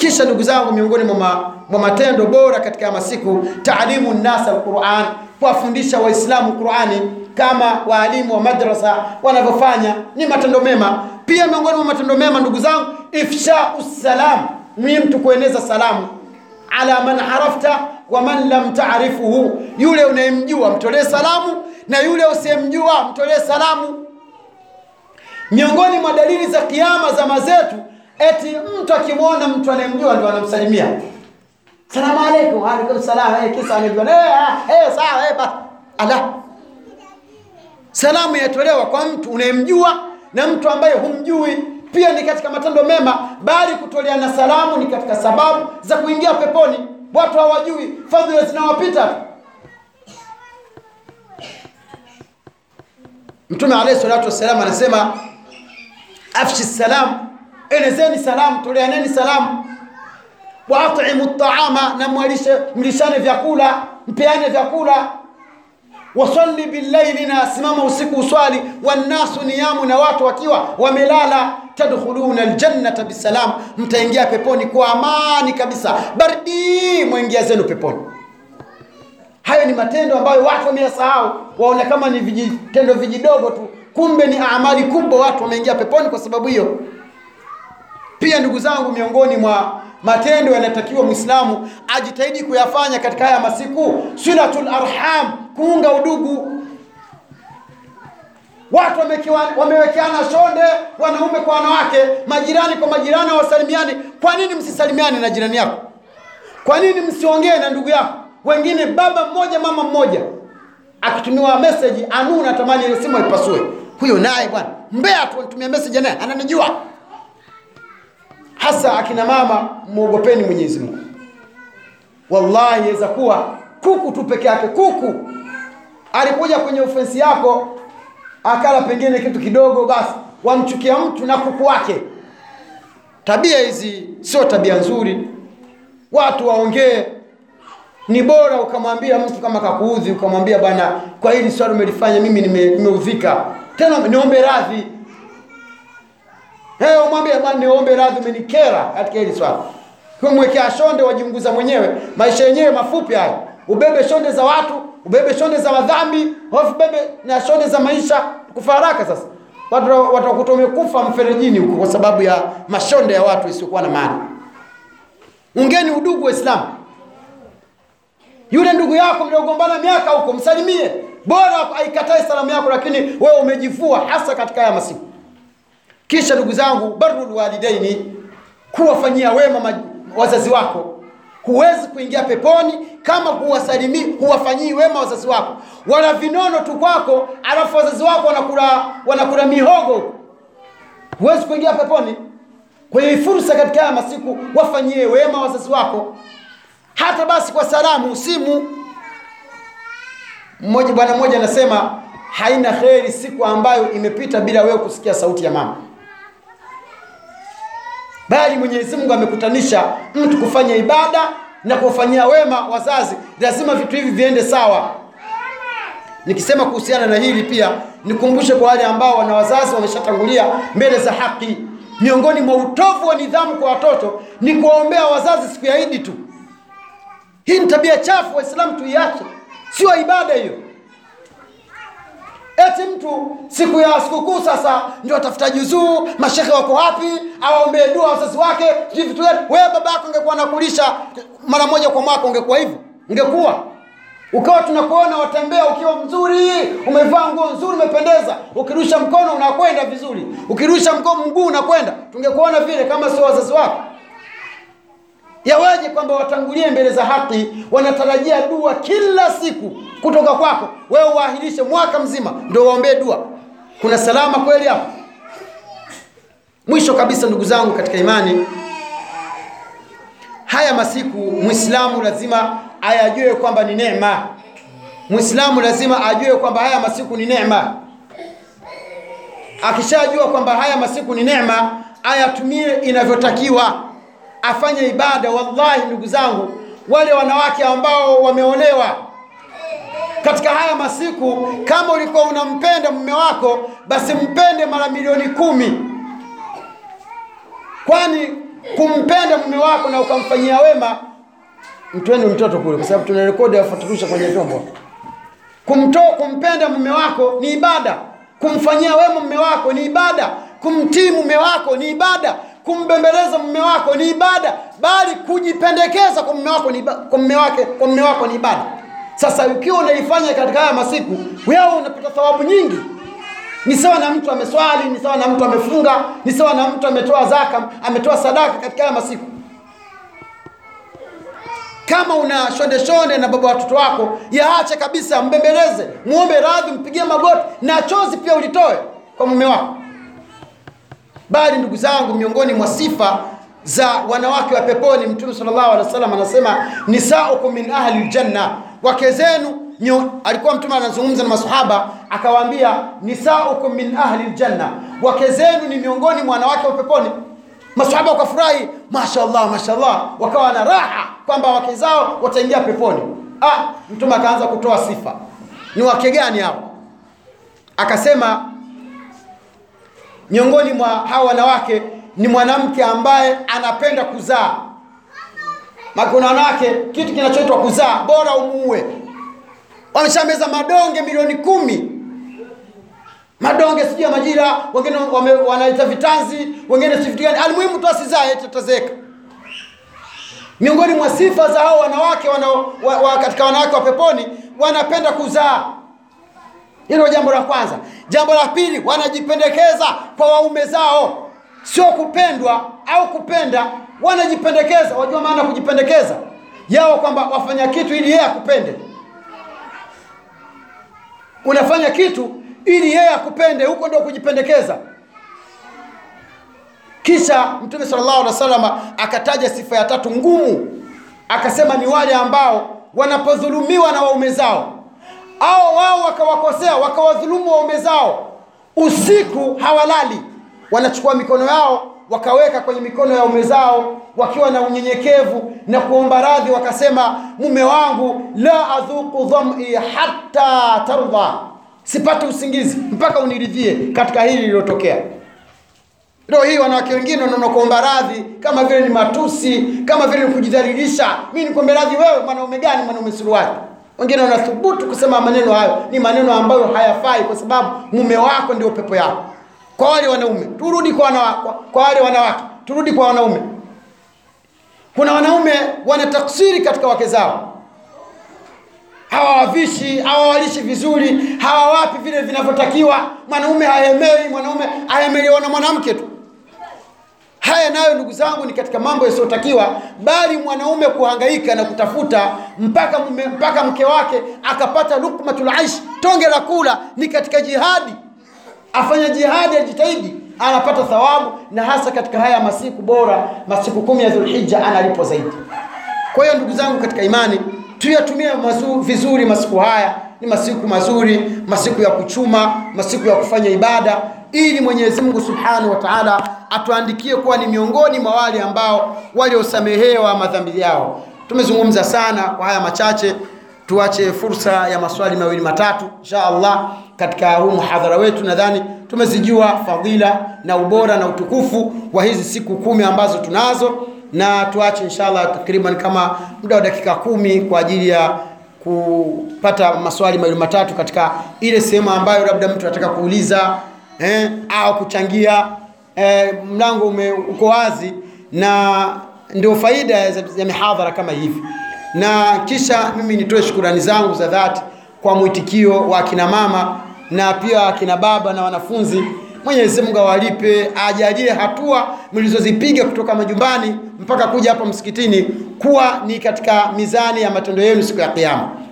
Kisha ndugu zangu, miongoni mwa matendo bora katika masiku, taalimu nasa alquran, kuwafundisha waislamu Qurani kama waalimu wa madrasa wanavyofanya, ni matendo mema. Pia miongoni mwa matendo mema ndugu zangu, ifsha'us salam, mtu kueneza salamu, ala man arafta wa man lam ta'rifuhu, yule unayemjua mtolee salamu na yule usiyemjua mtolee salamu. Miongoni mwa dalili za kiyama zama zetu, eti mtu akimwona mtu anayemjua ndio anamsalimia, salamu alaykum. Wa alaykum salam. Kisa anajua sawa basi. Ala, salamu yatolewa kwa mtu unayemjua na mtu ambaye humjui, pia ni katika matendo mema, bali kutoleana salamu ni katika sababu za kuingia peponi. Watu hawajui, fadhila zinawapita. Mtume alayhi salatu wasallam anasema, afshi salam, enezeni salamu, toleaneni salamu. Wa at'imu at'ama, na mlishane vyakula, mpeane vyakula. Wasalli bil-layli, na simama usiku uswali. Wannasu niyamu, na watu wakiwa wamelala. Tadkhuluna al-jannata bisalam, mtaingia peponi kwa amani kabisa. Bardi, muingia zenu peponi. Hayo ni matendo ambayo watu wameyasahau, waona kama ni vitendo vijidogo tu, kumbe ni amali kubwa. Watu wameingia peponi kwa sababu hiyo. Pia ndugu zangu, miongoni mwa matendo yanatakiwa Muislamu ajitahidi kuyafanya katika haya masiku, silatul arham, kuunga udugu. Watu wamewekeana shonde, wanaume kwa wanawake, majirani kwa majirani, wasalimiane. Kwa nini msisalimiane na jirani yako? Kwa nini msiongee na ndugu yako? Wengine baba mmoja mama mmoja, akitumiwa message anuna tamani ile simu ipasue. Huyo naye bwana mbea tu anitumia message, naye ananijua. Hasa akina mama, muogopeni Mwenyezi Mungu. Wallahi yaweza kuwa kuku tu peke yake, kuku alikuja kwenye ofensi yako akala pengine kitu kidogo, basi wamchukia mtu na kuku wake. Tabia hizi sio tabia nzuri. Watu waongee. Ni bora ukamwambia mtu kama kakuudhi, ukamwambia bwana, kwa hili swali umelifanya mimi nimeudhika, tena niombe radhi. Umwambie bwana, niombe radhi, umenikera katika hili swali. Kumwekea shonde, wajiunguza mwenyewe. Maisha yenyewe mafupi haya. Ubebe shonde za watu, ubebe shonde za madhambi, hofu bebe na shonde za maisha, kufa haraka. Sasa watu watakutomea kufa mferejini huko kwa sababu ya mashonde ya watu isiyokuwa na maana. Ungeni udugu wa Islam. Yule ndugu yako mliogombana miaka huko, msalimie. Bora aikatae salamu yako, lakini wewe umejivua, hasa katika haya masiku. Kisha ndugu zangu, barrul walidaini, kuwafanyia wema wazazi wako. Huwezi kuingia peponi kama huwafanyii wema wazazi wako. Wala vinono tu kwako, alafu wazazi wako wanakula mihogo. Huwezi kuingia peponi. Kwa hiyo fursa katika haya masiku, wafanyie wema wazazi wako. Hata basi kwa salamu, simu. Bwana mmoja anasema, haina kheri siku ambayo imepita bila wewe kusikia sauti ya mama. Bali Mwenyezi Mungu amekutanisha mtu kufanya ibada na kufanyia wema wazazi. Lazima vitu hivi viende sawa. Nikisema kuhusiana na hili pia nikumbushe kwa wale ambao wana wazazi wameshatangulia mbele za haki. Miongoni mwa utovu wa nidhamu kwa watoto ni kuwaombea wazazi siku ya Eid tu. Hii ni tabia chafu, Waislamu tuiache. Sio ibada hiyo. Eti mtu siku ya sikukuu sasa ndio atafuta juzuu, mashehe wako wapi, awaombee dua wazazi wake, vitu gani? Wewe baba yako ungekuwa nakulisha mara moja kwa mwaka, ungekuwa hivyo? Ungekuwa ukawa tunakuona watembea ukiwa mzuri, umevaa nguo nzuri, umependeza, ukirusha mkono unakwenda vizuri, ukirusha mguu unakwenda, tungekuona vile kama sio wazazi wako. Yawaje kwamba watangulie mbele za haki, wanatarajia dua kila siku kutoka kwako, wewe uahirishe mwaka mzima ndio waombee dua? Kuna salama kweli hapo? Mwisho kabisa ndugu zangu katika imani, haya masiku Muislamu lazima ayajue kwamba ni neema. Muislamu lazima ajue kwamba haya masiku ni neema. Akishajua kwamba haya masiku ni neema, ayatumie inavyotakiwa, afanye ibada. Wallahi ndugu zangu, wale wanawake ambao wameolewa katika haya masiku, kama ulikuwa unampenda mume wako, basi mpende mara milioni 10. Kwani kumpenda mume wako na ukamfanyia wema, mtweni mtoto kule, kwa sababu tunarekodi afuaturusha kwenye vyombo. Kumpenda mume wako ni ibada, kumfanyia wema mume wako ni ibada, kumtii mume wako ni ibada, kumbembeleza mume wako ni ibada, bali kujipendekeza kwa mume wako ni ibada. Sasa ukiwa unaifanya katika haya masiku, wewe unapata thawabu nyingi. Ni sawa na mtu ameswali, ni sawa na mtu amefunga, ni sawa na mtu ametoa zaka, ametoa sadaka katika haya masiku. Kama una shonde na baba watoto wako, yaache kabisa, mbembeleze, muombe radhi, mpigie magoti, na chozi pia ulitoe kwa mume wako. Bali ndugu zangu, miongoni mwa sifa za wanawake wa peponi, Mtume sallallahu alaihi wasallam anasema nisaukum min ahli aljanna, wake zenu. Alikuwa Mtume anazungumza na maswahaba akawaambia nisaukum min ahli aljanna, wake zenu ni miongoni mwa wanawake wa peponi. Maswahaba wakafurahi, mashaallah mashaallah, wakawa na raha kwamba wake zao wataingia peponi. Mtume akaanza kutoa sifa, ni wake gani hao? Akasema miongoni mwa hao wanawake ni mwanamke ambaye anapenda kuzaa. Kuna wanawake kitu kinachoitwa kuzaa bora umuue. Wameshameza madonge milioni 10. Madonge sijui ya majira, wengine wanaita vitanzi, wengine si vitu gani. Almuhimu tu asizae tutazeka. Miongoni mwa sifa za hao wanawake katika wanawake wa peponi, wanapenda kuzaa. Hilo jambo la kwanza. Jambo la pili, wanajipendekeza kwa waume zao. Sio kupendwa au kupenda, wanajipendekeza. Wajua maana kujipendekeza yao, kwamba wafanya kitu ili yeye akupende. Unafanya kitu ili yeye akupende, huko ndio kujipendekeza. Kisha Mtume sallallahu alaihi wasallam akataja sifa ya tatu ngumu, akasema ni wale ambao wanapodhulumiwa na waume zao, au wao wakawakosea, wakawadhulumu waume zao, usiku hawalali, wanachukua mikono yao wakaweka kwenye mikono ya waume zao, wakiwa na unyenyekevu na kuomba radhi, wakasema mume wangu, la adhuku dham'i hatta tarda, sipate usingizi mpaka uniridhie katika hili lililotokea. Ndio hii wanawake wengine wanaona kuomba radhi kama vile ni matusi, kama vile ni kujidhalilisha. Mimi nikombe radhi wewe, mwanaume gani, mwanaume suruali? Wengine wanathubutu kusema maneno hayo, ni maneno ambayo hayafai, kwa sababu mume wako ndio pepo yako. Kwa wale wanaume, turudi kwa wale wanawake, turudi kwa wanaume. Kuna wanaume wanataksiri katika wake zao. Hawawavishi, hawawalishi vizuri, hawawapi vile vinavyotakiwa. Mwanaume haemei, mwanaume haemelewa na mwanamke tu. Haya nayo ndugu zangu ni katika mambo yasiyotakiwa, bali mwanaume kuhangaika na kutafuta mpaka mke wake akapata lukmatul aish, tonge la kula, ni katika jihadi. Afanya jihadi, ajitahidi, anapata thawabu, na hasa katika haya masiku bora, masiku 10 ya Dhulhijja, analipo zaidi. Kwa hiyo ndugu zangu katika imani, tuyatumie vizuri masiku haya. Ni masiku mazuri, masiku ya kuchuma, masiku ya kufanya ibada, ili Mwenyezi Mungu Subhanahu wa Ta'ala atuandikie kuwa ni miongoni mwa wale ambao waliosamehewa madhambi yao. Tumezungumza sana, kwa haya machache tuache fursa ya maswali mawili matatu inshallah katika huu muhadhara wetu. Nadhani tumezijua fadhila na ubora na utukufu wa hizi siku 10 ambazo tunazo, na tuache inshallah takriban kama muda wa dakika 10 kwa ajili ya kupata maswali mawili matatu katika ile sehemu ambayo labda mtu anataka kuuliza au kuchangia. Mlango uko wazi, na ndio faida ya mihadhara kama hivi. Na kisha mimi nitoe shukrani zangu za dhati kwa mwitikio wa kina mama na pia kina baba na wanafunzi. Mwenyezi Mungu awalipe, ajalie hatua mlizozipiga kutoka majumbani mpaka kuja hapa msikitini kuwa ni katika mizani ya matendo yenu siku ya Kiyama.